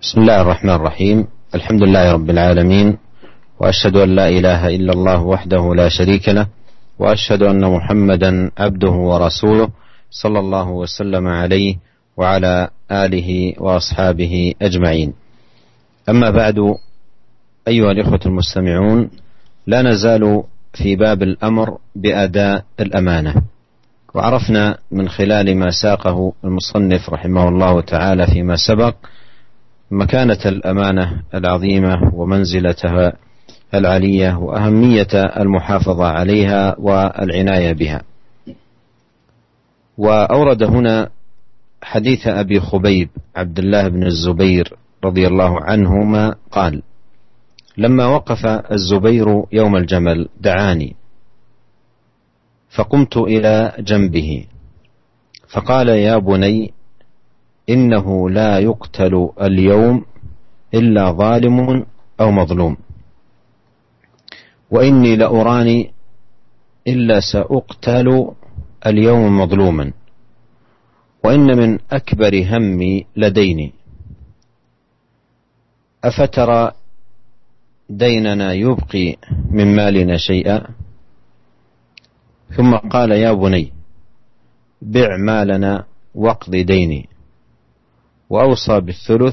بسم الله الرحمن الرحيم. الحمد لله رب العالمين، وأشهد أن لا إله إلا الله وحده لا شريك له، وأشهد أن محمدا عبده ورسوله صلى الله وسلم عليه وعلى آله وأصحابه أجمعين. أما بعد، أيها الإخوة المستمعون، لا نزال في باب الأمر بأداء الأمانة، وعرفنا من خلال ما ساقه المصنف رحمه الله تعالى فيما سبق مكانة الأمانة العظيمة ومنزلتها العلية وأهمية المحافظة عليها والعناية بها. وأورد هنا حديث أبي خبيب عبد الله بن الزبير رضي الله عنهما قال: لما وقف الزبير يوم الجمل دعاني، فقمت إلى جنبه فقال: يا بني، إنه لا يقتل اليوم إلا ظالم أو مظلوم، وإني لأراني إلا سأقتل اليوم مظلوما، وإن من أكبر همي لديني، أفترى ديننا يبقي من مالنا شيئا؟ ثم قال: يا بني، بع مالنا واقض ديني. وأوصى بالثلث،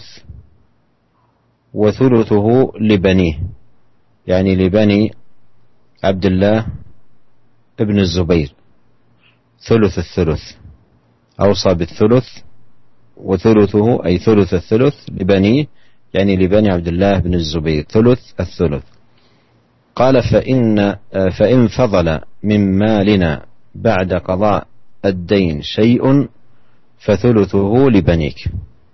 وثلثه لبنيه، يعني لبني عبد الله ابن الزبير، ثلث الثلث. أوصى بالثلث وثلثه أي ثلث الثلث لبنيه، يعني لبني عبد الله بن الزبير ثلث الثلث. قال: فإن فضل من مالنا بعد قضاء الدين شيء فثلثه لبنيك.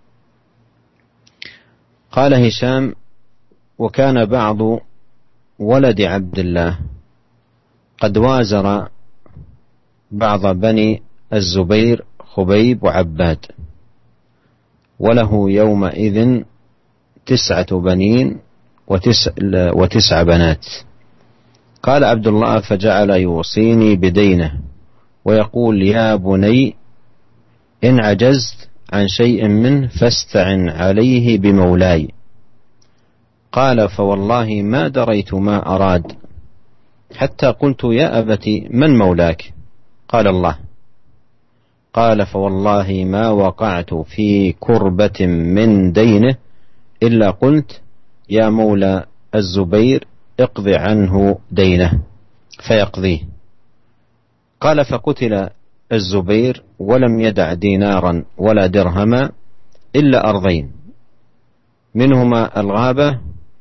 قال هشام: وكان بعض ولد عبد الله قد وازر بعض بني الزبير خبيب وعباد، وله يومئذ 9 بنين وتسع بنات. قال عبد الله: فجعل يوصيني بدينه ويقول: يا بني، إن عجزت عن شيء منه فاستعن عليه بمولاي. قال: فوالله ما دريت ما أراد، حتى قلت: يا أبت، من مولاك؟ قال: الله. قال: فوالله ما وقعت في كربة من دينه إلا قلت: يا مولى الزبير، اقض عنه دينه، فيقضيه. قال: فقتل الزبير ولم يدع دينارا ولا درهما إلا أرضين، منهما الغابة،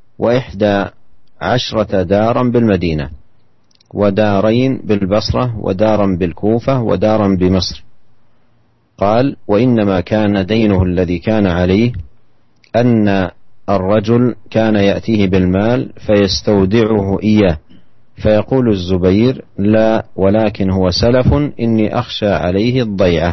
11 دارا بالمدينة، ودارين بالبصرة، ودارا بالكوفة، ودارا بمصر. قال: وإنما كان دينه الذي كان عليه أن الرجل كان يأتيه بالمال فيستودعه إياه، فيقول الزبير: لا، ولكن هو سلف، إني أخشى عليه الضيعة.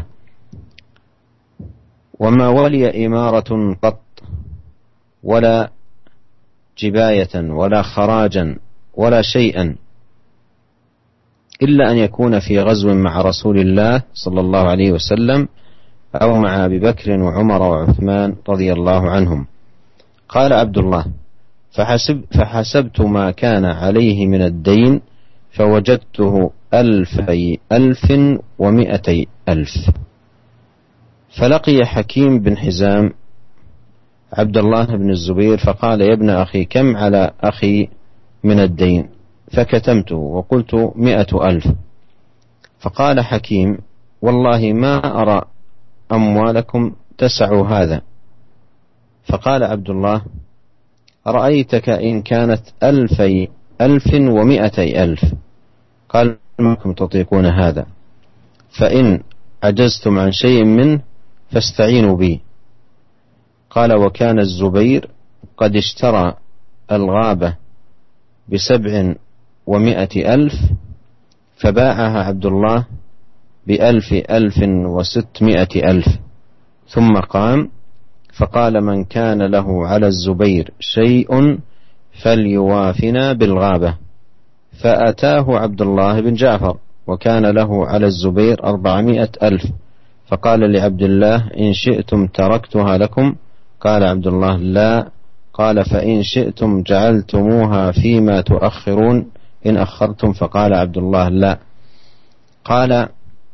وما ولي إمارة قط، ولا جباية، ولا خراجا، ولا شيئا، إلا أن يكون في غزو مع رسول الله صلى الله عليه وسلم، أو مع أبي بكر وعمر وعثمان رضي الله عنهم. قال عبد الله: فحسبت ما كان عليه من الدين فوجدته 1,200,000. فلقي حكيم بن حزام عبد الله بن الزبير فقال: يا ابن أخي، كم على أخي من الدين؟ فكتمته وقلت: 100,000. فقال حكيم: والله ما أرى أموالكم تسع هذا. فقال عبد الله: رأيتك إن كانت 1,200,000. قال: ما تطيقون هذا، فإن عجزتم عن شيء منه فاستعينوا بي. قال: وكان الزبير قد اشترى الغابة ب700,000، فباعها عبد الله ب1,600,000. ثم قام فقال: من كان له على الزبير شيء فليوافنا بالغابة. فأتاه عبد الله بن جعفر وكان له على الزبير 400,000، فقال لعبد الله: إن شئتم تركتها لكم قال عبد الله: لا. قال: فإن شئتم جعلتموها فيما تؤخرون إن أخرتم. فقال عبد الله: لا. قال: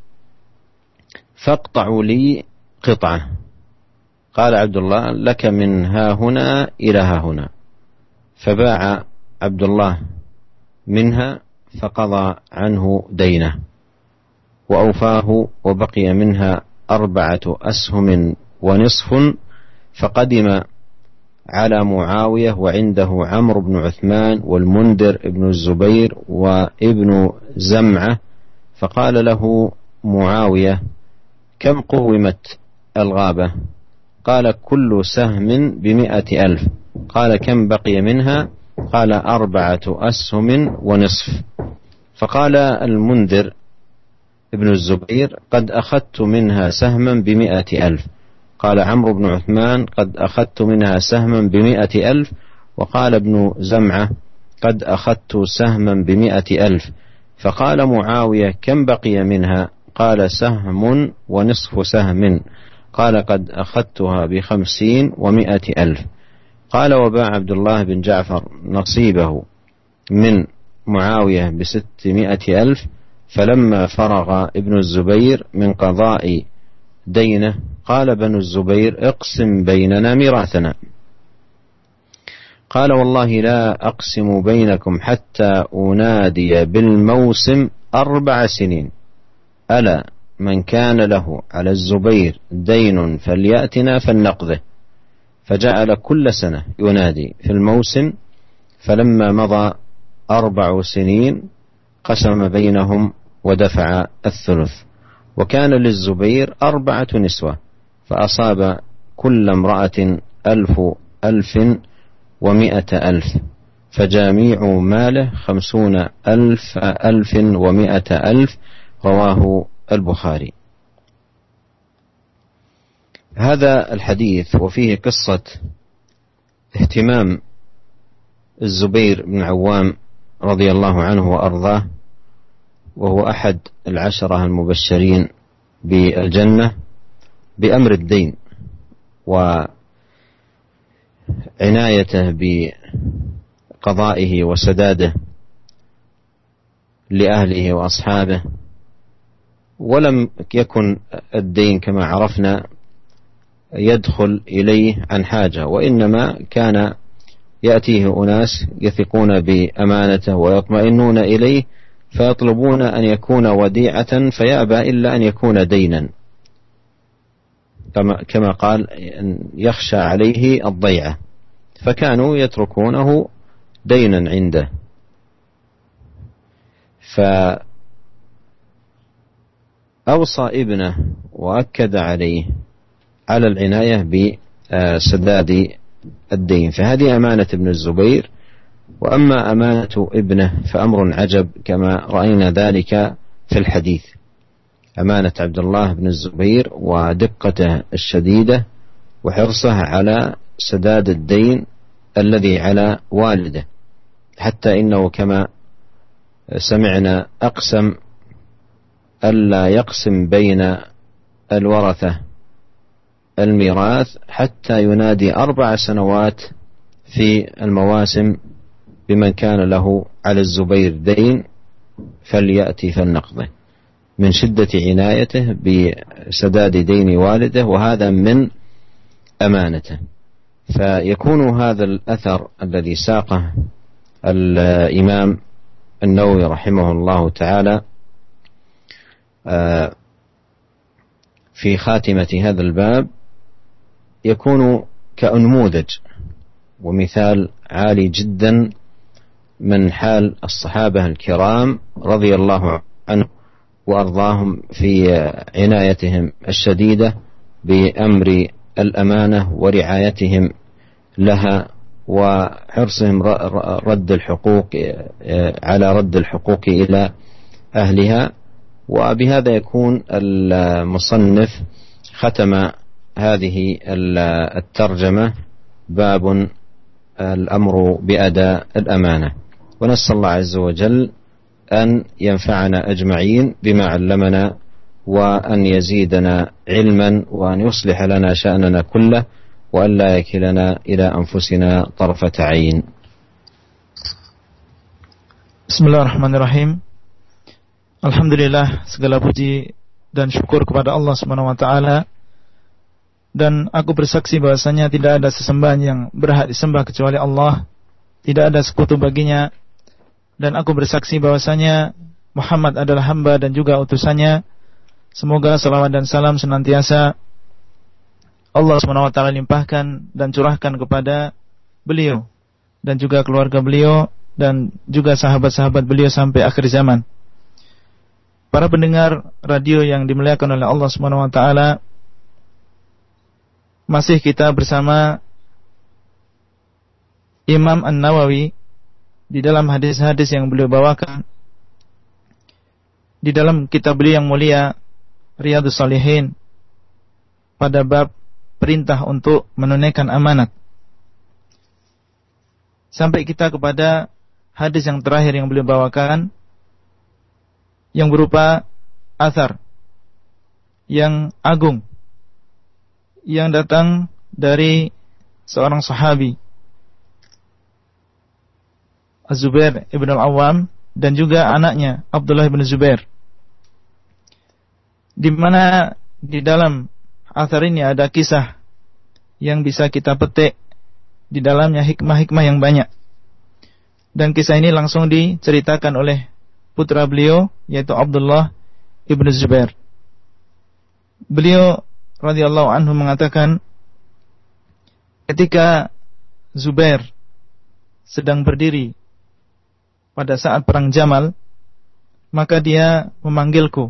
فاقطعوا لي قطعة. قال عبد الله: لك من ها هنا إلى ها هنا. فباع عبد الله منها فقضى عنه دينه وأوفاه، وبقي منها 4 أسهم ونصف. فقدم على معاوية وعنده عمرو بن عثمان والمنذر بن الزبير وابن زمعة، فقال له معاوية: كم قومت الغابة؟ قال: كل سهم ب100,000. قال: كم بقي منها؟ قال: 4 أسهم ونصف. فقال المنذر ابن الزبير: قد أخذت منها سهما ب100,000. قال عمرو بن عثمان: قد أخذت منها سهما ب100,000. وقال ابن زمعة: قد أخذت سهما ب100,000. فقال معاوية: كم بقي منها؟ قال: سهم ونصف سهم. قال: قد أخذتها ب50 و100,000. قال: وباع عبد الله بن جعفر نصيبه من معاوية ب600,000. فلما فرغ ابن الزبير من قضاء دينه قال بنو الزبير: اقسم بيننا ميراثنا. قال: والله لا أقسم بينكم حتى أنادي بالموسم 4 سنين. ألا من كان له على الزبير دين فليأتنا فلنقضه. فجعل كل سنة ينادي في الموسم. فلما مضى 4 سنين قسم بينهم ودفع الثلث. وكان للزبير 4 نسوة، فأصاب كل امرأة 1,100,000، فجميع ماله 50,100,000. رواه البخاري. هذا الحديث وفيه قصة اهتمام الزبير بن عوام رضي الله عنه وأرضاه، وهو أحد 10 المبشرين بالجنة، بأمر الدين وعنايته بقضائه وسداده لأهله وأصحابه. ولم يكن الدين كما عرفنا يدخل إليه عن حاجة، وإنما كان يأتيه أناس يثقون بأمانته ويطمئنون إليه فيطلبون أن يكون وديعة، فيأبى إلا أن يكون دينا، كما قال: يخشى عليه الضيعة، فكانوا يتركونه دينا عنده. فأوصى ابنه وأكد عليه على العناية بسداد الدين. فهذه أمانة ابن الزبير. وأما أمانة ابنه فأمر عجب كما رأينا ذلك في الحديث. أمانة عبد الله بن الزبير ودقته الشديدة وحرصه على سداد الدين الذي على والده، حتى إنه كما سمعنا أقسم ألا يقسم بين الورثة الميراث حتى ينادي 4 سنوات في المواسم بمن كان له على الزبير دين فليأتي فلنقضه، من شدة عنايته بسداد دين والده، وهذا من أمانته. فيكون هذا الأثر الذي ساقه الإمام النووي رحمه الله تعالى في خاتمة هذا الباب يكون كأنموذج ومثال عالي جدا من حال الصحابة الكرام رضي الله عنهم وأرضاهم في عنايتهم الشديدة بأمر الأمانة ورعايتهم لها، وحرصهم رد الحقوق على رد الحقوق إلى أهلها. وبهذا يكون المصنف ختم هذه الترجمة باب الأمر بأداء الأمانة. ونسأل الله عز وجل أن ينفعنا أجمعين بما علمنا، وأن يزيدنا علما، وأن يصلح لنا شأننا كله، وأن لا يكلنا إلى أنفسنا طرفة عين. Bismillahirrahmanirrahim. Alhamdulillah, segala puji dan syukur kepada Allah Subhanahu wa taala. Dan aku bersaksi bahwasanya tidak ada sesembahan yang berhak disembah kecuali Allah, tidak ada sekutu baginya. Dan aku bersaksi bahwasanya Muhammad adalah hamba dan juga utusannya. Semoga salawat dan salam senantiasa Allah Subhanahu wa taala limpahkan dan curahkan kepada beliau dan juga keluarga beliau dan juga sahabat-sahabat beliau sampai akhir zaman. Para pendengar radio yang dimuliakan oleh Allah Subhanahu wa taala, masih kita bersama Imam An-Nawawi di dalam hadis-hadis yang beliau bawakan di dalam kitab beliau yang mulia Riyadhus Shalihin pada bab perintah untuk menunaikan amanat. Sampai kita kepada hadis yang terakhir yang beliau bawakan, yang berupa athar yang agung yang datang dari seorang sahabi, Az-Zubair ibn al-Awwam, dan juga anaknya Abdullah ibn Zubair, di mana di dalam athar ini ada kisah yang bisa kita petik di dalamnya hikmah-hikmah yang banyak. Dan kisah ini langsung diceritakan oleh putra beliau, yaitu Abdullah ibn Zubair. Beliau radhiyallahu anhu mengatakan, ketika Zubair sedang berdiri pada saat perang Jamal, maka dia memanggilku.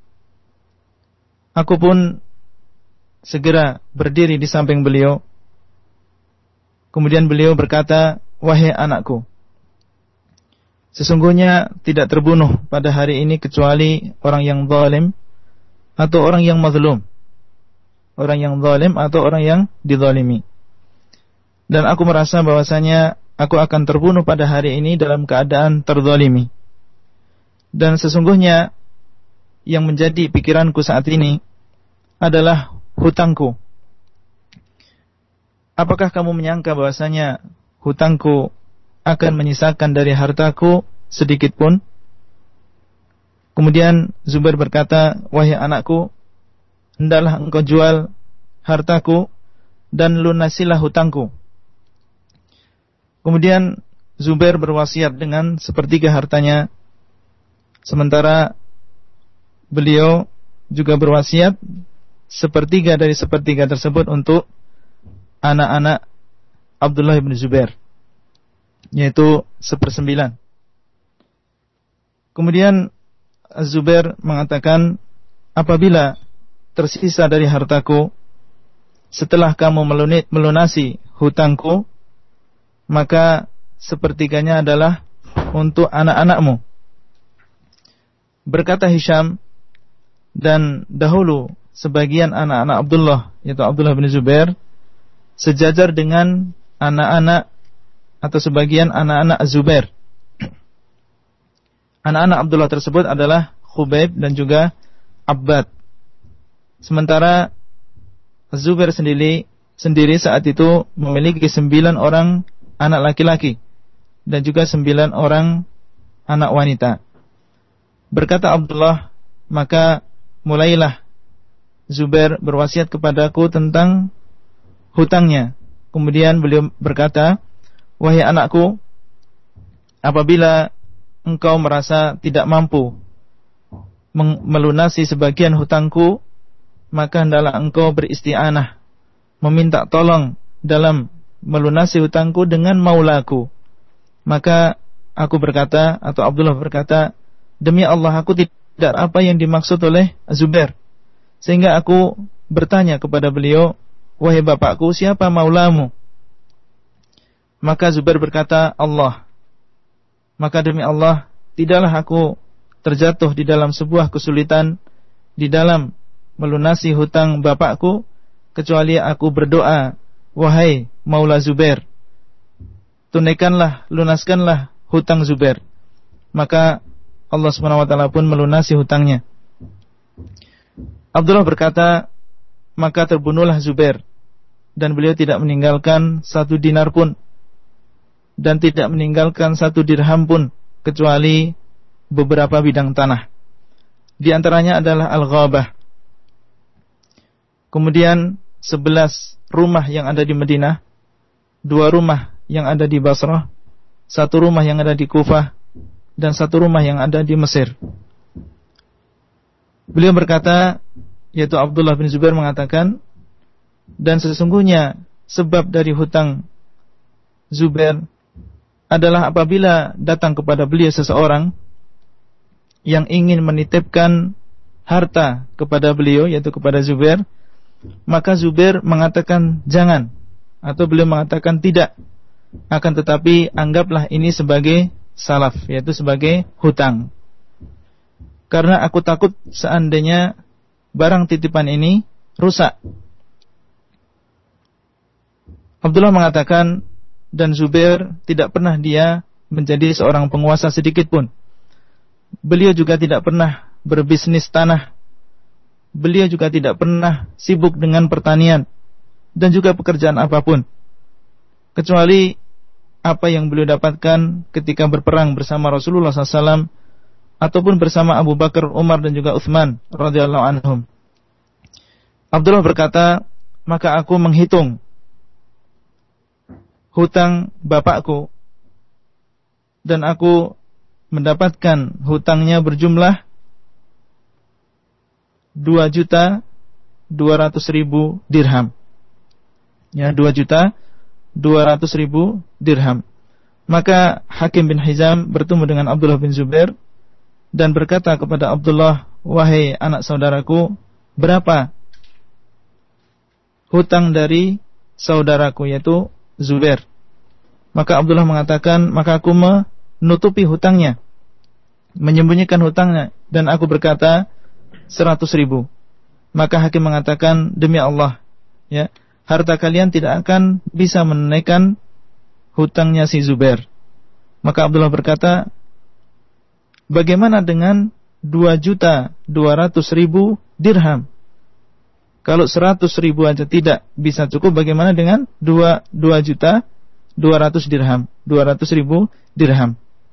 Aku pun segera berdiri di samping beliau. Kemudian beliau berkata, "Wahai anakku, sesungguhnya tidak terbunuh pada hari ini kecuali orang yang zalim atau orang yang mazlum." Orang yang zalim atau orang yang dizalimi. Dan aku merasa bahwasanya aku akan terbunuh pada hari ini dalam keadaan terzalimi. Dan sesungguhnya yang menjadi pikiranku saat ini adalah hutangku. Apakah kamu menyangka bahwasanya hutangku akan menyisakan dari hartaku sedikit pun? Kemudian Zubair berkata, "Wahai anakku, hendaklah engkau jual hartaku dan lunasilah hutangku." Kemudian Zubair berwasiat dengan sepertiga hartanya, sementara beliau juga berwasiat sepertiga dari sepertiga tersebut untuk anak-anak Abdullah bin Zubair, yaitu 1/9. Kemudian Zubair mengatakan, apabila tersisa dari hartaku setelah kamu melunasi hutangku, maka sepertiganya adalah untuk anak-anakmu. Berkata Hisham, dan dahulu sebagian anak-anak Abdullah, yaitu Abdullah bin Zubair, sejajar dengan anak-anak atau sebagian anak-anak Zubair. Anak-anak Abdullah tersebut adalah Khubayb dan juga Abbad. Sementara Zubair sendiri saat itu memiliki 9 orang anak laki-laki dan juga 9 orang anak wanita. Berkata Abdullah, maka mulailah Zubair berwasiat kepadaku tentang hutangnya. Kemudian beliau berkata, "Wahai anakku, apabila engkau merasa tidak mampu melunasi sebagian hutangku, maka hendaklah engkau beristi'anah, meminta tolong dalam melunasi hutangku dengan maulaku." Maka aku berkata, atau Abdullah berkata, "Demi Allah, aku tidak apa yang dimaksud oleh Zubair." Sehingga aku bertanya kepada beliau, "Wahai bapakku, siapa maulamu?" Maka Zubair berkata, "Allah." Maka demi Allah, tidaklah aku terjatuh di dalam sebuah kesulitan di dalam melunasi hutang bapakku, kecuali aku berdoa, "Wahai Maula Zubair, tunaikanlah, lunaskanlah hutang Zubair." Maka Allah SWT pun melunasi hutangnya. Abdullah berkata, maka terbunuhlah Zubair dan beliau tidak meninggalkan 1 dinar pun dan tidak meninggalkan 1 dirham pun kecuali beberapa bidang tanah. Di antaranya adalah Al-Ghabah. Kemudian 11 rumah yang ada di Madinah, 2 rumah yang ada di Basrah, 1 rumah yang ada di Kufah, dan 1 rumah yang ada di Mesir. Beliau berkata, yaitu Abdullah bin Zubair mengatakan, dan sesungguhnya sebab dari hutang Zubair adalah apabila datang kepada beliau seseorang yang ingin menitipkan harta kepada beliau, yaitu kepada Zubair, maka Zubair mengatakan jangan, atau beliau mengatakan tidak, akan tetapi anggaplah ini sebagai salaf, yaitu sebagai hutang. Karena aku takut seandainya barang titipan ini rusak. Abdullah mengatakan, dan Zubair tidak pernah dia menjadi seorang penguasa sedikit pun. Beliau juga tidak pernah berbisnis tanah. Beliau juga tidak pernah sibuk dengan pertanian dan juga pekerjaan apapun, kecuali apa yang beliau dapatkan ketika berperang bersama Rasulullah SAW ataupun bersama Abu Bakar, Umar dan juga Utsman radhiyallahu anhum. Abdullah berkata, maka aku menghitung hutang bapakku dan aku mendapatkan hutangnya berjumlah 2.200.000 dirham. Ya, 2.200.000 dirham. Maka Hakim bin Hizam bertemu dengan Abdullah bin Zubair dan berkata kepada Abdullah, wahai anak saudaraku, berapa hutang dari saudaraku, yaitu Zubair? Maka Abdullah mengatakan, maka aku menutupi hutangnya, menyembunyikan hutangnya, dan aku berkata 100.000. Maka Hakim mengatakan, demi Allah, ya, harta kalian tidak akan bisa menunaikan hutangnya si Zubair. Maka Abdullah berkata, bagaimana dengan 2.200.000 dirham? Kalau 100.000 aja tidak bisa cukup, bagaimana dengan 2.200.000 dirham? 200.000 dirham.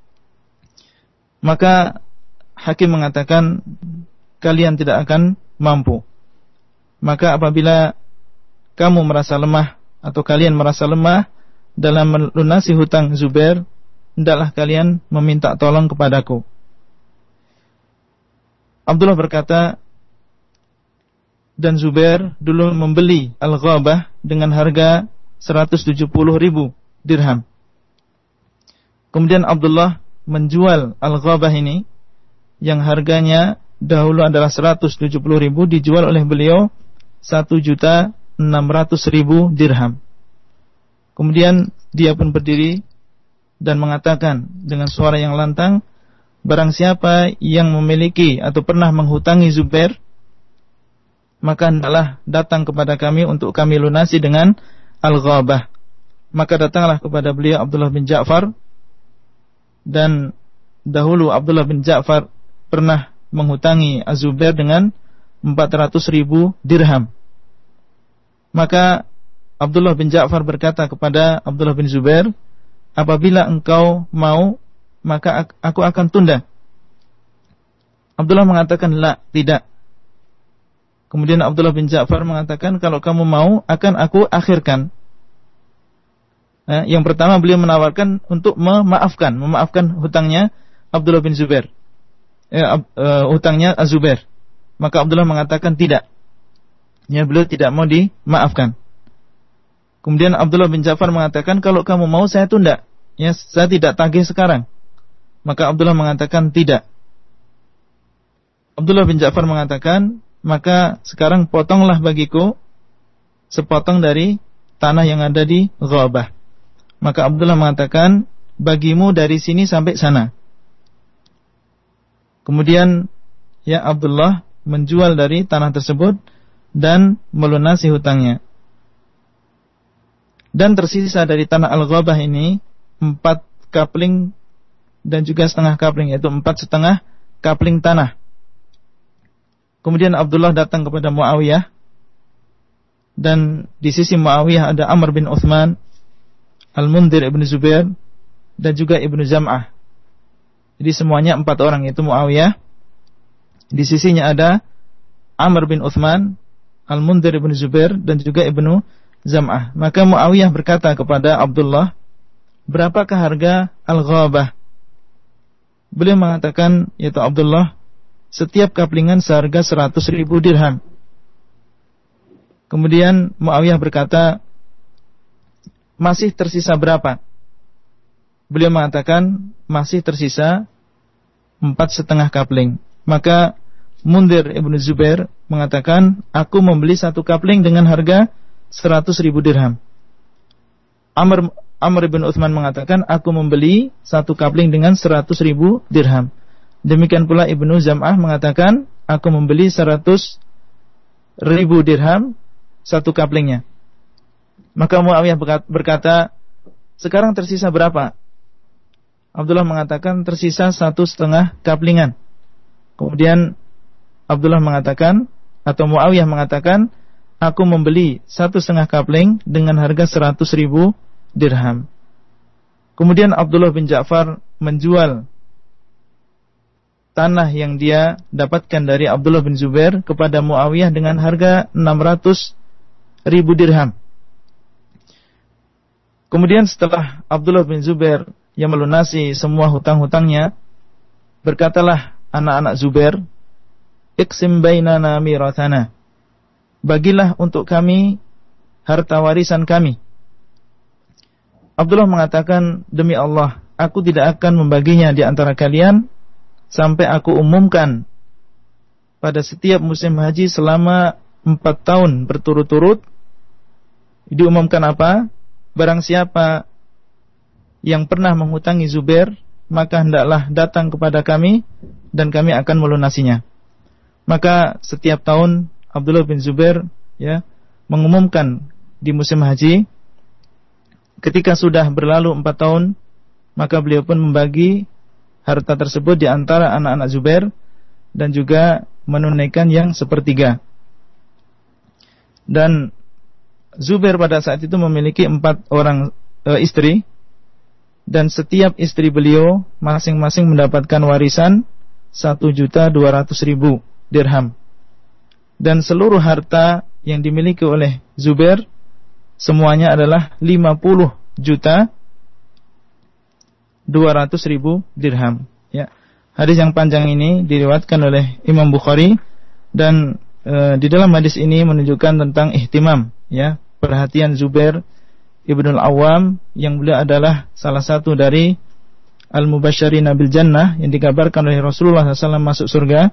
Maka Hakim mengatakan, kalian tidak akan mampu. Maka apabila kamu merasa lemah atau kalian merasa lemah dalam melunasi hutang Zubair, hendaklah kalian meminta tolong kepadaku. Abdullah berkata, dan Zubair dulu membeli Al-Ghabah dengan harga 170.000 dirham. Kemudian Abdullah menjual Al-Ghabah ini yang harganya dahulu adalah 170.000, dijual oleh beliau 1.600.000 dirham. Kemudian dia pun berdiri dan mengatakan dengan suara yang lantang, barang siapa yang memiliki atau pernah menghutangi Zubair, maka hendaklah datang kepada kami untuk kami lunasi dengan Al-Ghabah. Maka datanglah kepada beliau Abdullah bin Ja'far, dan dahulu Abdullah bin Ja'far pernah menghutangi Az-Zubair dengan 400.000 dirham. Maka Abdullah bin Ja'far berkata kepada Abdullah bin Zubair, apabila engkau mau, maka aku akan tunda. Abdullah mengatakan, la, tidak. Kemudian Abdullah bin Ja'far mengatakan, kalau kamu mau, akan aku akhirkan. Yang pertama beliau menawarkan untuk memaafkan hutangnya Abdullah bin Zubair, hutangnya Az-Zubair. Maka Abdullah mengatakan tidak. Ya, beliau tidak mau dimaafkan. Kemudian Abdullah bin Ja'far mengatakan, kalau kamu mau saya tunda, ya, saya tidak tagih sekarang. Maka Abdullah mengatakan tidak. Abdullah bin Ja'far mengatakan, maka sekarang potonglah bagiku sepotong dari tanah yang ada di Ghabah. Maka Abdullah mengatakan, bagimu dari sini sampai sana. Kemudian ya Abdullah menjual dari tanah tersebut dan melunasi hutangnya. Dan tersisa dari tanah Al-Ghabah ini 4 kapling dan juga setengah kapling, yaitu 4,5 kapling tanah. Kemudian Abdullah datang kepada Muawiyah dan di sisi Muawiyah ada Amr bin Uthman, Al-Mundhir ibn Zubair, dan juga Ibnu Zam'ah. Jadi semuanya 4 orang, yaitu Muawiyah. Di sisinya ada Amr bin Uthman, Al-Mundhir ibn Zubair, dan juga Ibnu Zam'ah. Maka Muawiyah berkata kepada Abdullah, berapakah harga Al-Ghabah? Beliau mengatakan, yaitu Abdullah, setiap kaplingan seharga 100.000 dirham. Kemudian Muawiyah berkata, masih tersisa berapa? Beliau mengatakan, masih tersisa 4,5 kapling. Maka Mundhir ibn Zubair mengatakan, aku membeli 1 kapling dengan harga 100.000 dirham. Amr bin Uthman mengatakan, aku membeli 1 kapling dengan 100.000 dirham. Demikian pula Ibnu Zam'ah mengatakan, aku membeli 100.000 dirham 1 kaplingnya. Maka Muawiyah berkata, sekarang tersisa berapa? Abdullah mengatakan, tersisa 1,5 kaplingan. Kemudian Abdullah mengatakan, atau Muawiyah mengatakan, aku membeli 1,5 kapling dengan harga 100.000 dirham. Kemudian Abdullah bin Ja'far menjual tanah yang dia dapatkan dari Abdullah bin Zubair kepada Muawiyah dengan harga 600.000 dirham. Kemudian setelah Abdullah bin Zubair yang melunasi semua hutang-hutangnya, berkatalah anak-anak Zubair, iqsim bainana mirathana, bagilah untuk kami harta warisan kami. Abdullah mengatakan, demi Allah, aku tidak akan membaginya di antara kalian sampai aku umumkan pada setiap musim haji selama 4 tahun berturut-turut. Diumumkan apa? Barang siapa yang pernah menghutangi Zubair, maka hendaklah datang kepada kami dan kami akan melunasinya. Maka setiap tahun Abdullah bin Zubair mengumumkan di musim haji. Ketika sudah berlalu 4 tahun, maka beliau pun membagi harta tersebut di antara anak-anak Zubair dan juga menunaikan yang 1/3. Dan Zubair pada saat itu memiliki 4 orang istri, dan setiap istri beliau masing-masing mendapatkan warisan 1.200.000 dirham. Dan seluruh harta yang dimiliki oleh Zubair semuanya adalah 50.200.000 dirham. Ya. Hadis yang panjang ini diriwayatkan oleh Imam Bukhari, dan di dalam hadis ini menunjukkan tentang ihtimam, perhatian Zubair Ibnul Awwam, yang beliau adalah salah satu dari al-mubasysyirin bil jannah yang dikabarkan oleh Rasulullah SAW masuk surga.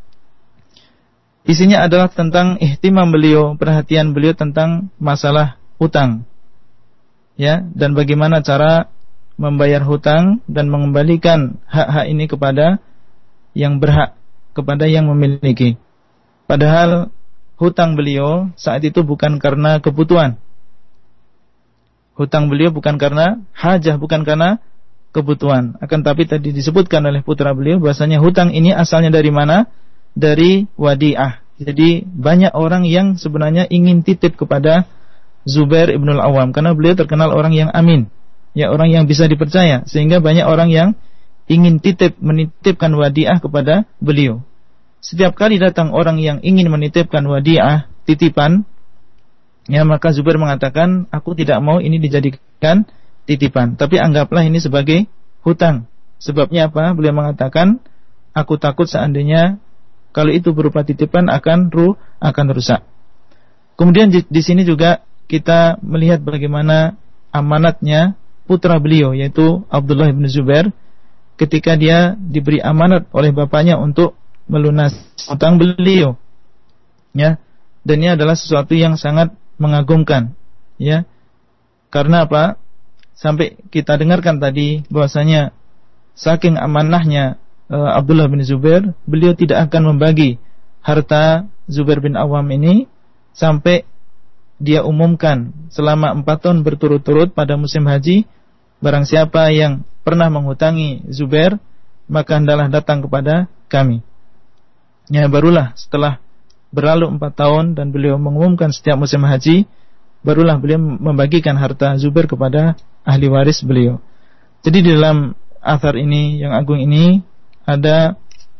Isinya adalah tentang ihtimam beliau, perhatian beliau tentang masalah hutang, dan bagaimana cara membayar hutang dan mengembalikan hak-hak ini kepada yang berhak, kepada yang memiliki. Padahal hutang beliau saat itu bukan karena kebutuhan. Hutang beliau bukan karena hajah, bukan karena kebutuhan. Akan tapi tadi disebutkan oleh putra beliau bahasanya hutang ini asalnya dari mana? Dari wadi'ah. Jadi banyak orang yang sebenarnya ingin titip kepada Zubair Ibnul Awwam, karena beliau terkenal orang yang amin, orang yang bisa dipercaya, sehingga banyak orang yang ingin menitipkan wadi'ah kepada beliau. Setiap kali datang orang yang ingin menitipkan wadi'ah, titipan, maka Zubair mengatakan, aku tidak mau ini dijadikan titipan, tapi anggaplah ini sebagai hutang. Sebabnya apa? Beliau mengatakan, aku takut seandainya kalau itu berupa titipan akan rusak. Kemudian di sini juga kita melihat bagaimana amanatnya putra beliau, yaitu Abdullah bin Zubair, ketika dia diberi amanat oleh bapaknya untuk melunasi hutang beliau, dan ini adalah sesuatu yang sangat mengagumkan, karena apa? Sampai kita dengarkan tadi bahwasanya saking amanahnya Abdullah bin Zubair, beliau tidak akan membagi harta Zubair bin Awam ini sampai dia umumkan selama 4 tahun berturut-turut pada musim haji, barang siapa yang pernah menghutangi Zubair, maka hendaklah datang kepada kami. Barulah setelah berlalu 4 tahun dan beliau mengumumkan setiap musim haji, barulah beliau membagikan harta Zubair kepada ahli waris beliau. Jadi di dalam athar ini yang agung ini ada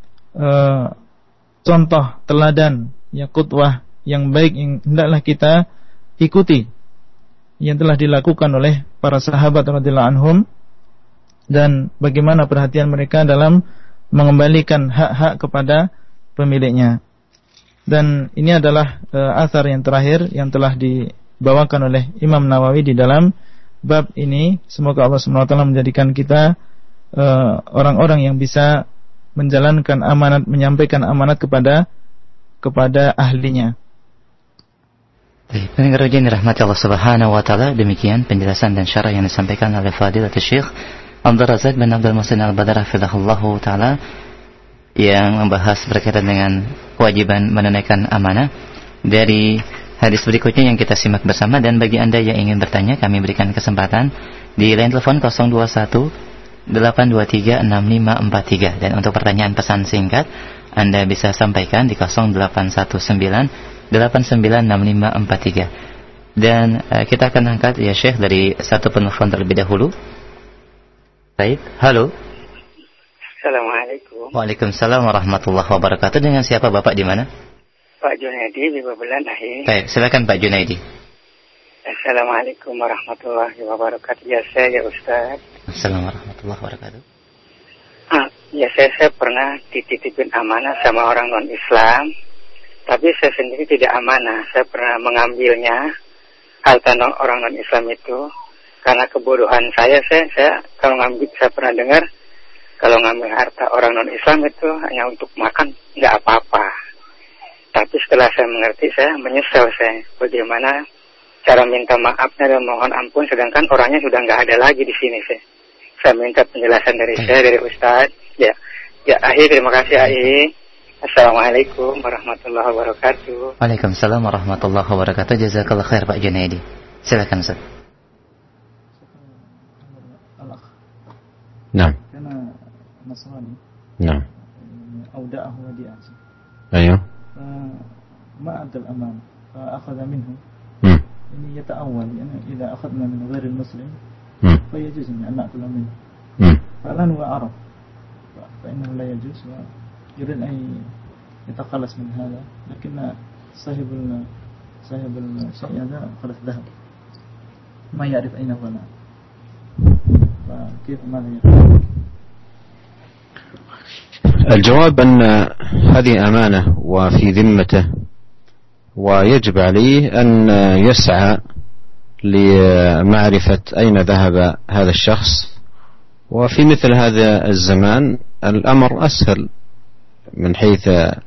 contoh teladan, ya, qudwah yang baik yang hendaklah kita ikuti, yang telah dilakukan oleh para sahabat radhiyallahu anhum, dan bagaimana perhatian mereka dalam mengembalikan hak-hak kepada pemiliknya. Dan ini adalah athar yang terakhir yang telah dibawakan oleh Imam Nawawi di dalam bab ini. Semoga Allah SWT menjadikan kita orang-orang yang bisa menjalankan amanat, menyampaikan amanat kepada ahlinya. Pendengar ujian dirahmati Allah Subhanahu wa taala, demikian penjelasan dan syarah yang disampaikan oleh Fadilatul Syekh Abdul Razak bin Abdul Muhsin Al-Badar hafizahullahu taala yang membahas berkaitan dengan kewajiban menunaikan amanah. Dari hadis berikutnya yang kita simak bersama, dan bagi Anda yang ingin bertanya, kami berikan kesempatan di line telepon 021 823 6543, dan untuk pertanyaan pesan singkat Anda bisa sampaikan di 0819 896543. Dan kita akan angkat, ya Syekh, dari satu penelpon terlebih dahulu. Baik, halo. Assalamualaikum. Waalaikumsalam warahmatullahi wabarakatuh. Dengan siapa Bapak, di mana? Pak Junaidi di Babelan Ahi. Baik, silakan Pak Junaidi. Assalamualaikum warahmatullahi wabarakatuh. Ya saya, ya Ustaz. Assalamualaikum warahmatullahi wabarakatuh. Ya saya pernah dititipin amanah sama orang non-Islam, tapi saya sendiri tidak amanah. Saya pernah mengambilnya harta orang non-Islam itu karena kebodohan saya kalau ngambil, saya pernah dengar kalau ngambil harta orang non-Islam itu hanya untuk makan, nggak apa-apa. Tapi setelah saya mengerti, saya menyesal bagaimana cara minta maafnya dan mohon ampun, sedangkan orangnya sudah nggak ada lagi di sini. Saya minta penjelasan dari dari Ustaz. Ya, Ahi, terima kasih Ahi. Assalamualaikum warahmatullahi wabarakatuh. Waalaikumsalam warahmatullahi wabarakatuh. Jazakallah khair Pak Junaidi. Silakan Ustaz. Nah. Karena Nasrani. Nah. Auda'ahu wadi'ah. Ayo. Ma adal aman. Fa akhadha minhu. Ini yata'awwal, yani idza akhadna min ghairi al-muslim fa yajuz an na'kula minhu. Falan wa araf. Fa innahu la yajuz wa yurid an yataqallas min hadha. Lakin sahibul syai' hadha khalas dhahab. Ma ya'rif ayna huwa. فكيف ماذا يفعل؟ الجواب أن هذه أمانة وفي ذمته، ويجب عليه أن يسعى لمعرفة أين ذهب هذا الشخص. وفي مثل هذا الزمان الأمر أسهل من حيث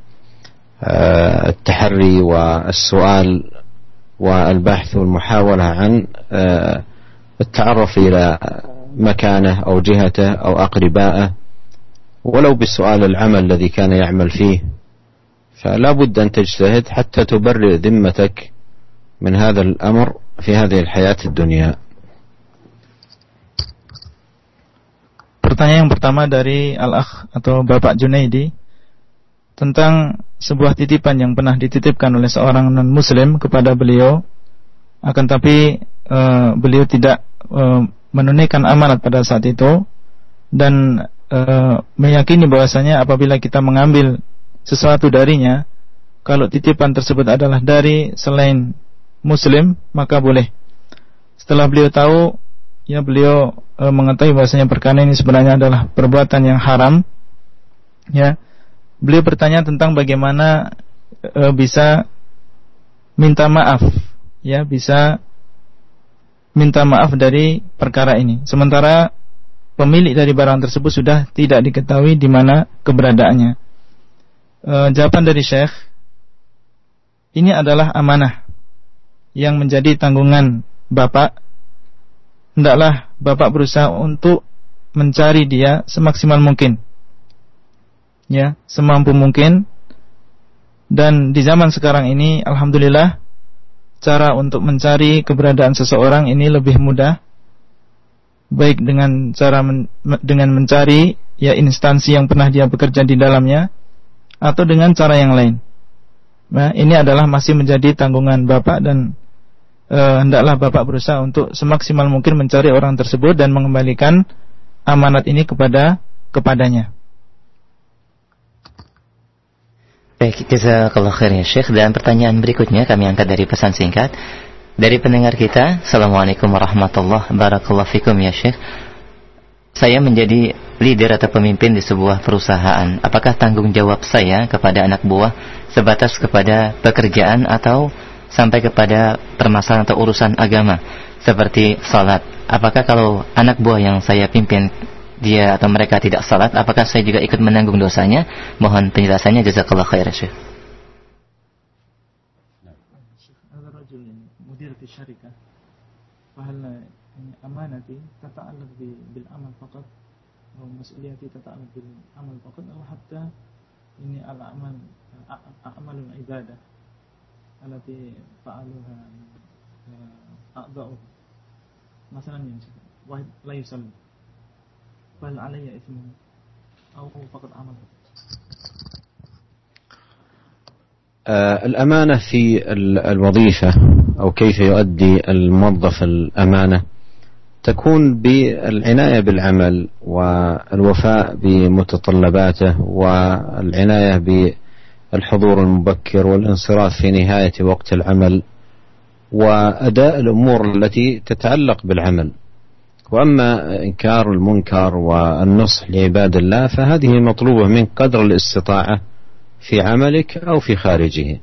التحري والسؤال والبحث والمحاولة عن التعرف إلى مكانه أو جهته أو أقربائه، ولو بالسؤال العمل الذي كان يعمل فيه. فلا بد أن تجتهد حتى تبرئ ذمتك من هذا الأمر في هذه الحياة الدنيا. Pertanyaan yang pertama dari Al-Akh atau Bapak Junaidi tentang sebuah titipan yang pernah dititipkan oleh seorang non-muslim kepada beliau, akan tapi beliau tidak menunaikan amanat pada saat itu, dan meyakini bahwasanya apabila kita mengambil sesuatu darinya, kalau titipan tersebut adalah dari selain muslim, maka boleh. Setelah beliau tahu, ya, beliau mengetahui bahwasanya perkara ini sebenarnya adalah perbuatan yang haram, ya, beliau bertanya tentang bagaimana bisa minta maaf, ya, bisa minta maaf dari perkara ini, sementara pemilik dari barang tersebut sudah tidak diketahui di mana keberadaannya. Jawaban dari Syekh, ini adalah amanah yang menjadi tanggungan Bapak. Hendaklah Bapak berusaha untuk mencari dia semaksimal mungkin, ya, semampu mungkin. Dan di zaman sekarang ini, alhamdulillah, cara untuk mencari keberadaan seseorang ini lebih mudah, baik dengan cara dengan mencari, ya, instansi yang pernah dia bekerja di dalamnya, atau dengan cara yang lain. Nah, ini adalah masih menjadi tanggungan Bapak dan hendaklah Bapak berusaha untuk semaksimal mungkin mencari orang tersebut dan mengembalikan amanat ini kepadanya. Baik, jazakallah khair ya Syekh. Dan pertanyaan berikutnya kami angkat dari pesan singkat dari pendengar kita. Assalamualaikum warahmatullahi wabarakatuh. Fikum ya Syekh. Saya menjadi leader atau pemimpin di sebuah perusahaan. Apakah tanggung jawab saya kepada anak buah sebatas kepada pekerjaan atau sampai kepada permasalahan atau urusan agama seperti salat? Apakah kalau anak buah yang saya pimpin dia atau mereka tidak salat, apakah saya juga ikut menanggung dosanya? Mohon penjelasannya, jazakallah khair Syekh. Ada rajul mudir di syarikah. Fahal amanati tata'allaq bil amal faqat atau mas'uliyati tata'allaq bil amal faqat atau hatta ini al-amal a'malul ibadah allati fa'aluha a'dha'u masalan wahid la yusalli fal alayya ithmu aw faqat amal. الأمانة في الوظيفة أو كيف يؤدي الموظف الأمانة تكون بالعناية بالعمل والوفاء بمتطلباته والعناية بالحضور المبكر والانصراف في نهاية وقت العمل وأداء الأمور التي تتعلق بالعمل. وأما إنكار المنكر والنصح لعباد الله فهذه مطلوبة من قدر الاستطاعة في عملك أو في خارجه.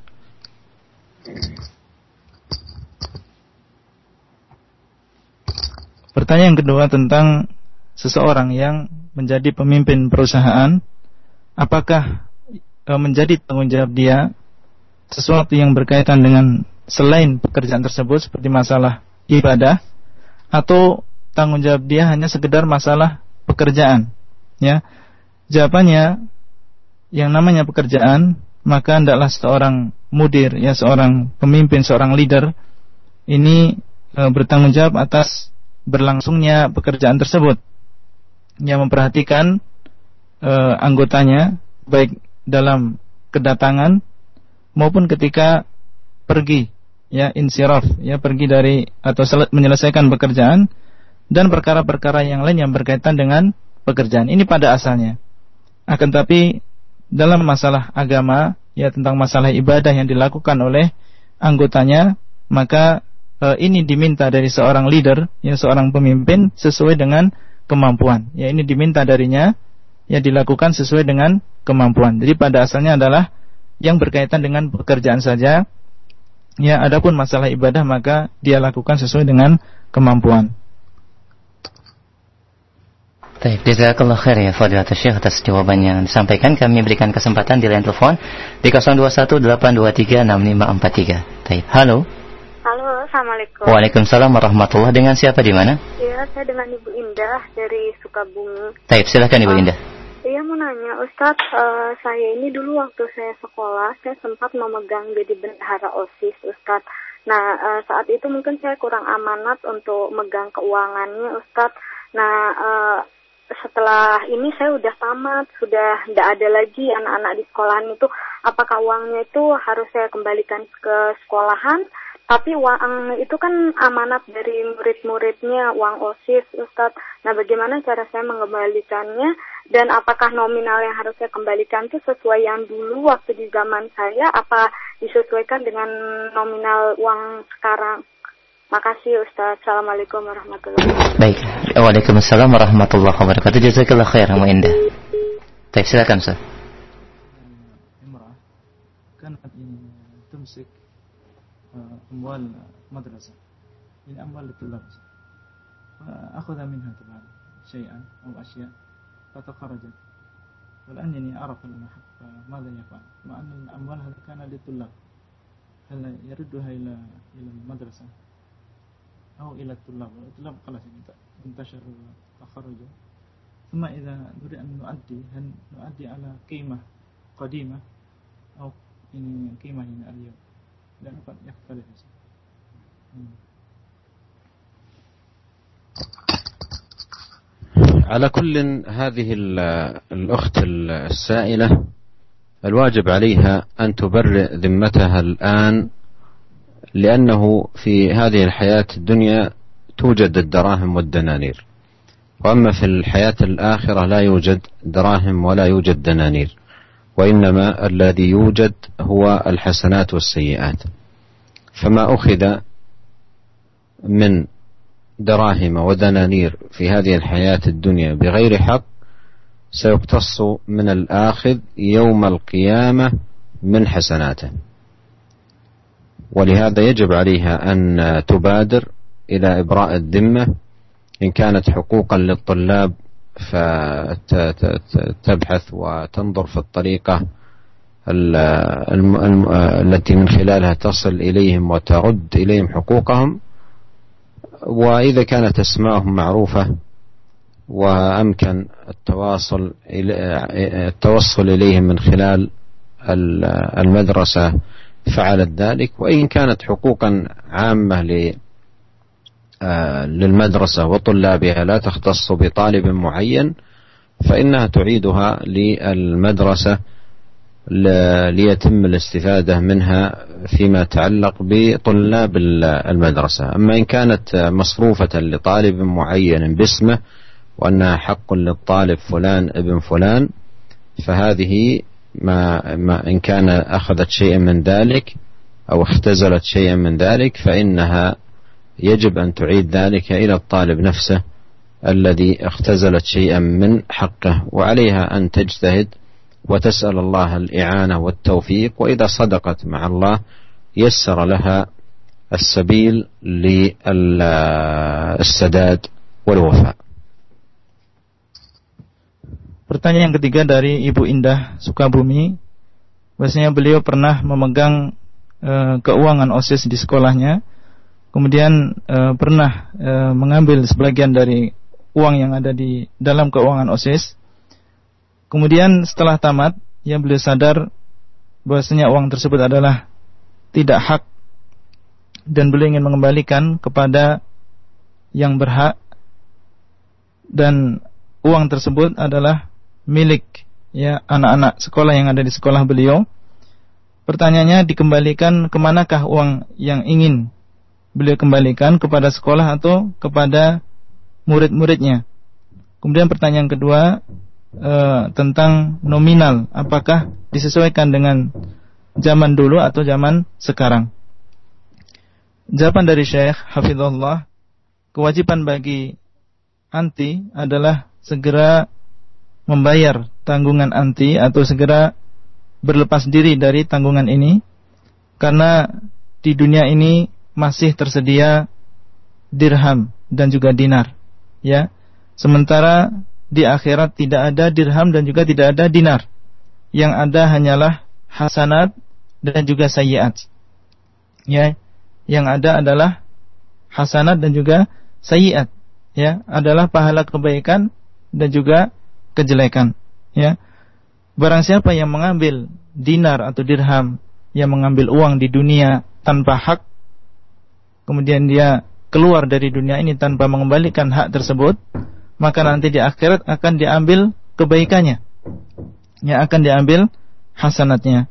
Pertanyaan kedua tentang seseorang yang menjadi pemimpin perusahaan, apakah menjadi tanggung jawab dia sesuatu yang berkaitan dengan selain pekerjaan tersebut seperti masalah ibadah, atau tanggung jawab dia hanya sekedar masalah pekerjaan? Ya, jawabannya yang namanya pekerjaan, maka hendaklah seorang mudir, ya seorang pemimpin, seorang leader ini bertanggung jawab atas berlangsungnya pekerjaan tersebut, yang memperhatikan anggotanya baik dalam kedatangan maupun ketika pergi, ya insiraf, ya pergi dari atau menyelesaikan pekerjaan dan perkara-perkara yang lain yang berkaitan dengan pekerjaan ini pada asalnya. Akan tapi dalam masalah agama, ya tentang masalah ibadah yang dilakukan oleh anggotanya, maka ini diminta dari seorang leader, ya seorang pemimpin sesuai dengan kemampuan. Ya ini diminta darinya, ya dilakukan sesuai dengan kemampuan. Jadi pada asalnya adalah yang berkaitan dengan pekerjaan saja. Ya adapun masalah ibadah maka dia lakukan sesuai dengan kemampuan. Baik, jazakallah khair ya Fadilatul Syekh atas jawaban yang disampaikan. Kami berikan kesempatan di line telepon di 0218236543. Baik, halo. Halo, assalamualaikum. Waalaikumsalam warahmatullahi. Dengan siapa di mana? Iya, saya dengan Ibu Indah dari Sukabumi. Baik, silakan Ibu Indah. Iya, mau nanya, Ustadz, saya ini dulu waktu saya sekolah, saya sempat memegang jadi bendahara OSIS, Ustadz. Nah, saat itu mungkin saya kurang amanat untuk megang keuangannya, Ustadz. Nah, setelah ini saya udah tamat, sudah tidak ada lagi anak-anak di sekolahan itu. Apakah uangnya itu harus saya kembalikan ke sekolahan? Tapi uang itu kan amanat dari murid-muridnya, uang OSIS, Ustadz. Nah, bagaimana cara saya mengembalikannya? Dan apakah nominal yang harus saya kembalikan itu sesuai yang dulu waktu di zaman saya? Apa disesuaikan dengan nominal uang sekarang? Makasih Ustadz. Assalamualaikum warahmatullahi wabarakatuh. Baik. Waalaikumsalam warahmatullahi wabarakatuh. Jazakallah khair, Mbak Indah. Baik, silakan Ustaz. Imrah kan ini tumsik أموال مدرسة من أموال الطلاب فأخذ منها طبعا شيئا أو أشياء فتخرجت والآن يعني عرف المحق فماذا يفعل مع أن الأموال هذا كان للطلاب هل يردها إلى المدرسة أو إلى الطلاب خلاص انتشر تخرجوا ثم إذا نريد أن نؤدي هل نؤدي على قيمة قديمة أو ini قيمة هنا اليوم dan dapat يختلف. على كل هذه الأخت السائلة الواجب عليها أن تبرئ ذمتها الآن، لأنه في هذه الحياة الدنيا توجد الدراهم والدنانير، وأما في الحياة الآخرة لا يوجد دراهم ولا يوجد دنانير، وإنما الذي يوجد هو الحسنات والسيئات. فما أخذ من دراهم ودنانير في هذه الحياة الدنيا بغير حق سيقتص من الآخذ يوم القيامة من حسناته، ولهذا يجب عليها أن تبادر إلى إبراء الذمة. إن كانت حقوقا للطلاب فتبحث وتنظر في الطريقة التي من خلالها تصل إليهم وترد إليهم حقوقهم، وإذا كانت أسماءهم معروفة وأمكن التوصل إليهم من خلال المدرسة فعلت ذلك. وإن كانت حقوقا عامة للمدرسة وطلابها لا تختص بطالب معين فإنها تعيدها للمدرسة ليتم الاستفادة منها فيما يتعلق بطلاب المدرسة. أما إن كانت مصروفة لطالب معين باسمه وأنها حق للطالب فلان ابن فلان، فهذه ما إن كان أخذت شيئا من ذلك أو اختزلت شيئا من ذلك فإنها يجب أن تعيد ذلك إلى الطالب نفسه الذي اختزلت شيئا من حقه، وعليها أن تجتهد وتسأل الله الإعانة والتوفيق، وإذا صدقت مع الله يسر لها السبيل للسداد والوفاء. Pertanyaan yang ketiga dari Ibu Indah Sukabumi, bahwasanya beliau pernah memegang keuangan OSIS di sekolahnya, kemudian pernah mengambil sebagian dari uang yang ada di dalam keuangan OSIS. Kemudian setelah tamat, beliau sadar bahwasanya uang tersebut adalah tidak hak dan beliau ingin mengembalikan kepada yang berhak, dan uang tersebut adalah milik anak-anak sekolah yang ada di sekolah beliau. Pertanyaannya, dikembalikan kemanakah uang yang ingin beliau kembalikan, kepada sekolah atau kepada murid-muridnya? Kemudian pertanyaan kedua tentang nominal, apakah disesuaikan dengan zaman dulu atau zaman sekarang? Jawaban dari Syekh Hafizullah, kewajiban bagi anti adalah segera membayar tanggungan anti atau segera berlepas diri dari tanggungan ini, karena di dunia ini masih tersedia dirham dan juga dinar, sementara di akhirat tidak ada dirham dan juga tidak ada dinar. Yang ada hanyalah hasanat dan juga sayyiat. Yang ada adalah hasanat dan juga sayyiat, adalah pahala kebaikan dan juga kejelekan. Barang siapa yang mengambil dinar atau dirham, yang mengambil uang di dunia tanpa hak, kemudian dia keluar dari dunia ini tanpa mengembalikan hak tersebut, maka nanti di akhirat akan diambil kebaikannya, akan diambil hasanatnya.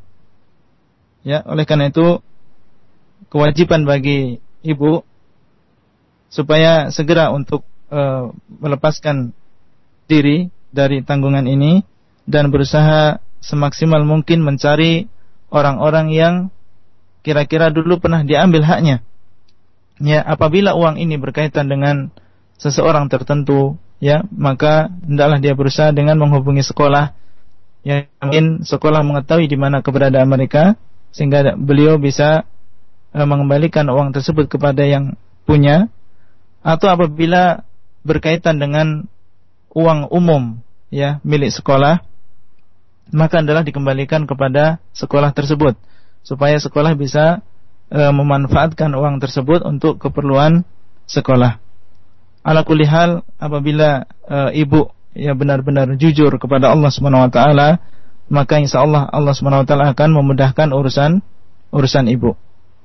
Oleh karena itu kewajiban bagi ibu supaya segera untuk melepaskan diri dari tanggungan ini dan berusaha semaksimal mungkin mencari orang-orang yang kira-kira dulu pernah diambil haknya. Apabila uang ini berkaitan dengan seseorang tertentu, maka hendaklah dia berusaha dengan menghubungi sekolah, mungkin sekolah mengetahui di mana keberadaan mereka sehingga beliau bisa mengembalikan uang tersebut kepada yang punya. Atau apabila berkaitan dengan uang umum milik sekolah, maka adalah dikembalikan kepada sekolah tersebut supaya sekolah bisa memanfaatkan uang tersebut untuk keperluan sekolah. Ala kulli hal, apabila ibu benar-benar jujur kepada Allah Subhanahu wa taala, maka insyaallah Allah Subhanahu wa taala akan memudahkan urusan ibu.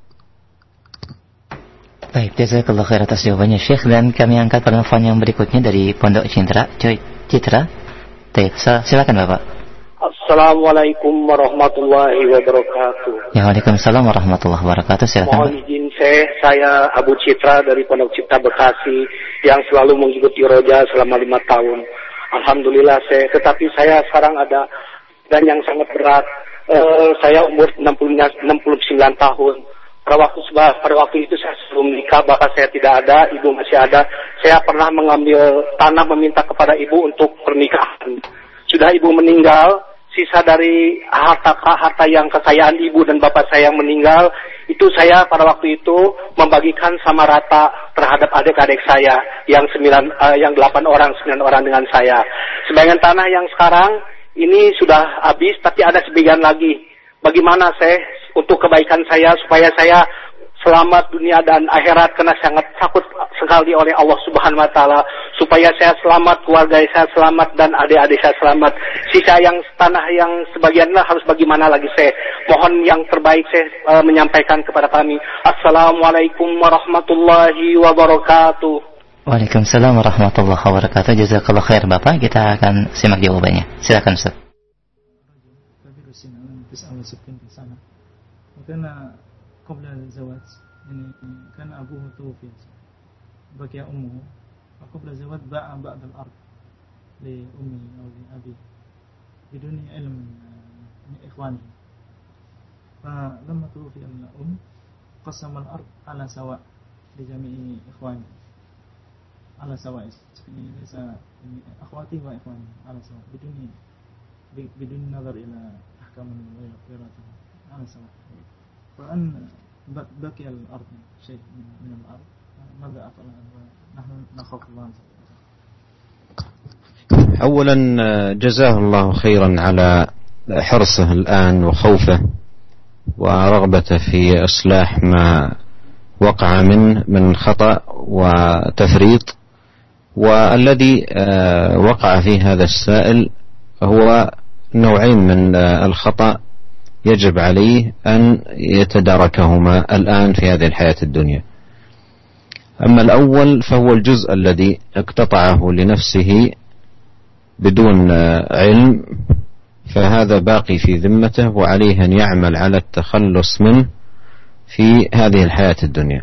Baik, jazakallah khair atas jawabannya Syekh, dan kami angkat penelpon yang berikutnya dari Pondok Citra. Baik, silakan Bapak. Assalamualaikum warahmatullahi wabarakatuh. Ya, waalaikumsalam warahmatullahi wabarakatuh. Silakan. Mohon izin saya Abu Citra dari Pondok Cipta Bekasi yang selalu mengikuti Roja selama 5 tahun. Alhamdulillah tetapi saya sekarang ada dan yang sangat berat. Saya umur 69 tahun. Pada waktu itu saya sebelum nikah, bapak saya tidak ada, ibu masih ada. Saya pernah mengambil tanah meminta kepada ibu untuk pernikahan. Sudah ibu meninggal, sisa dari harta yang kekayaan ibu dan bapak saya yang meninggal, itu saya pada waktu itu membagikan sama rata terhadap adik-adik saya yang 8 orang, 9 orang dengan saya. Sebagian tanah yang sekarang ini sudah habis, tapi ada sebagian lagi. Bagaimana saya untuk kebaikan saya supaya saya selamat dunia dan akhirat, karena sangat takut sekali oleh Allah Subhanahu wa taala, supaya saya selamat, keluarga saya selamat dan adik-adik saya selamat. Sisa yang tanah yang sebagiannya harus bagaimana lagi saya mohon yang terbaik saya menyampaikan kepada kami. Assalamualaikum warahmatullahi wabarakatuh. Waalaikumsalam warahmatullahi wabarakatuh. Jazakallah khair Bapak. Kita akan simak jawabannya. Silakan Ustaz. قبل الزواج يعني كان أبوه توفي بقي أمه وقبل الزواج باع بعض الأرض لأمه أو لأبيه بدون علم من إخوانه. فلما توفي الأم قسم الأرض على سواء لجميع إخوانه على سواء، ليس أخواته وإخوانه على سواء بدون نظر إلى أحكام وراثة على سواء. فأن بقي الأرض شيء من الأرض ماذا أفعل نحن نخاف الله. أولا جزاه الله خيرا على حرصه الآن وخوفه ورغبته في إصلاح ما وقع منه من خطأ وتفريط. والذي وقع في هذا السائل هو نوعين من الخطأ يجب عليه أن يتداركهما الآن في هذه الحياة الدنيا. أما الأول فهو الجزء الذي اقتطعه لنفسه بدون علم، فهذا باقي في ذمته وعليه أن يعمل على التخلص منه في هذه الحياة الدنيا.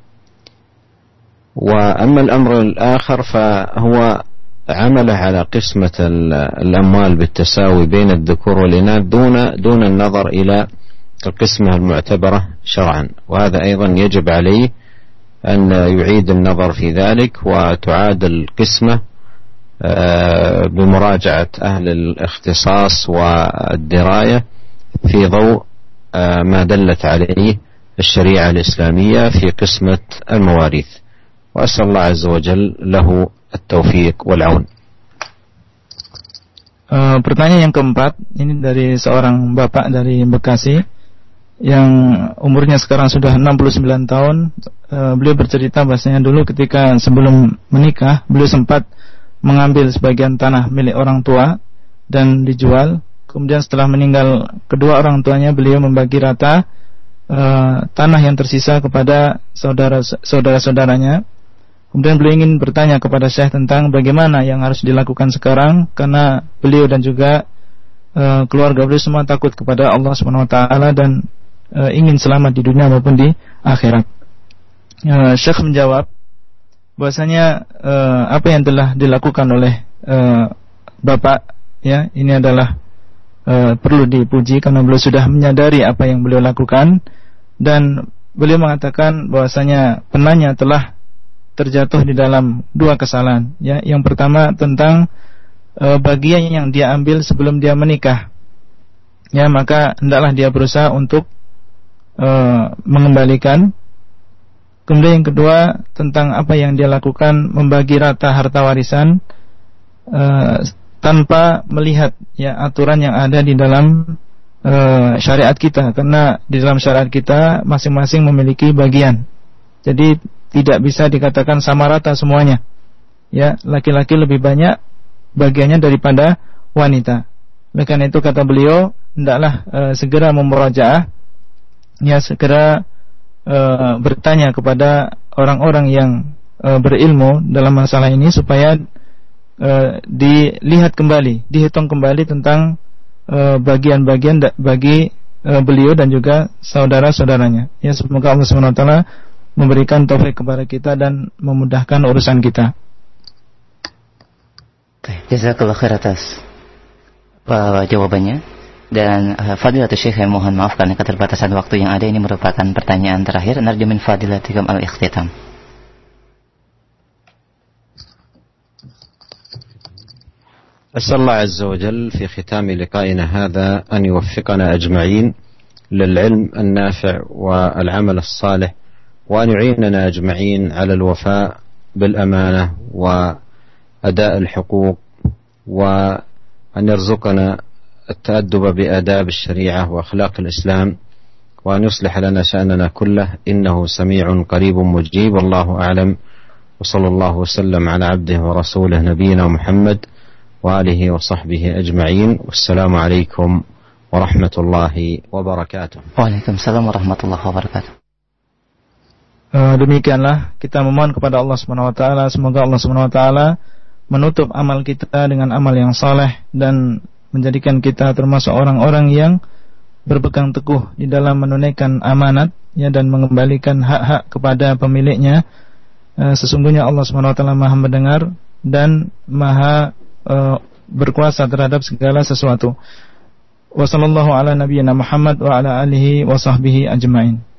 وأما الأمر الآخر فهو عمله على قسمة الأموال بالتساوي بين الذكور والإناث دون النظر إلى القسمة المعتبرة شرعا، وهذا أيضا يجب عليه أن يعيد النظر في ذلك وتعاد القسمة بمراجعة أهل الاختصاص والدراية في ضوء ما دلت عليه الشريعة الإسلامية في قسمة المواريث. وأسأل الله عز وجل له التوفيق والعون. Pertanyaan yang keempat ini dari seorang bapak dari Bekasi yang umurnya sekarang sudah 69 tahun. Beliau bercerita bahasanya dulu ketika sebelum menikah beliau sempat mengambil sebagian tanah milik orang tua dan dijual. Kemudian setelah meninggal kedua orang tuanya, beliau membagi rata tanah yang tersisa kepada saudara-saudaranya. Kemudian beliau ingin bertanya kepada Syekh tentang bagaimana yang harus dilakukan sekarang, karena beliau dan juga keluarga beliau semua takut kepada Allah Subhanahu wa taala dan ingin selamat di dunia maupun di akhirat. Syekh menjawab bahwasanya apa yang telah dilakukan oleh Bapak ya, ini adalah perlu dipuji karena beliau sudah menyadari apa yang beliau lakukan, dan beliau mengatakan bahwasanya penanya telah terjatuh di dalam dua kesalahan ya. Yang pertama tentang bagian yang dia ambil sebelum dia menikah ya, maka hendaklah dia berusaha untuk mengembalikan. Kemudian yang kedua tentang apa yang dia lakukan, membagi rata harta warisan tanpa melihat ya aturan yang ada di dalam syariat kita, karena di dalam syariat kita masing-masing memiliki bagian. Jadi tidak bisa dikatakan sama rata semuanya. Ya, laki-laki lebih banyak bagiannya daripada wanita. Oleh karena itu kata beliau, hendaklah segera memurajaah, ya segera bertanya kepada orang-orang yang berilmu dalam masalah ini supaya dilihat kembali, dihitung kembali tentang bagian-bagian bagi beliau dan juga saudara-saudaranya. Ya, semoga Allah Subhanahu wa taala memberikan taufik kepada kita dan memudahkan urusan kita. Jazakallahu khair atas jawabannya. Dan Fadilatul Syekh, mohon maaf karena keterbatasan waktu yang ada, ini merupakan pertanyaan terakhir. Narju min fadilatikum al-ikhtitam. أسأل الله عز وجل في ختام لقائنا هذا أن يوفقنا أجمعين للعلم النافع والعمل الصالح، وأن يعيننا أجمعين على الوفاء بالأمانة وأداء الحقوق، وأن يرزقنا التأدب بآداب الشريعة وأخلاق الإسلام، وأن يصلح لنا شأننا كله، إنه سميع قريب مجيب. الله أعلم، وصلى الله وسلم على عبده ورسوله نبينا محمد وآله وصحبه أجمعين، والسلام عليكم ورحمة الله وبركاته. Waalaikumsalam warahmatullahi wabarakatuh. Demikianlah kita memohon kepada Allah Subhanahu wa taala, semoga Allah Subhanahu wa taala menutup amal kita dengan amal yang saleh dan menjadikan kita termasuk orang-orang yang berpegang teguh di dalam menunaikan amanat, ya, dan mengembalikan hak-hak kepada pemiliknya. Sesungguhnya Allah Subhanahu wa taala Maha mendengar dan Maha berkuasa terhadap segala sesuatu. Wassallallahu ala nabiyyina Muhammad wa ala alihi wa sahbihi ajma'in.